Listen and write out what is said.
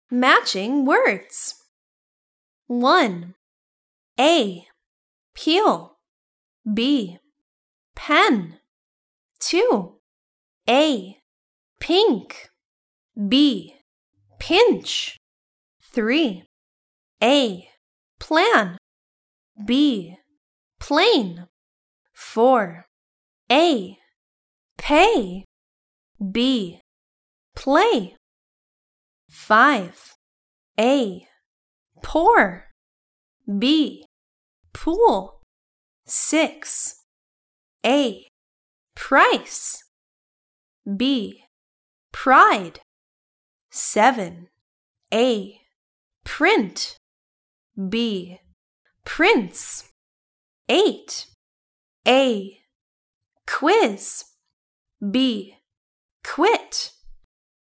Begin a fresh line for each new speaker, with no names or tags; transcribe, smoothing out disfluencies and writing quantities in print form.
matching words. 1. A. Peel. B. Pen. 2. A. Pink. B. Pinch. 3. A. Plan. B. Plane. 4. A. Pay. B. Play. 5. A. Pour. B. Pool. 6. A. Price. B. Pride. 7. A. Print. B. Prince. 8. A. Quiz. B. Quit.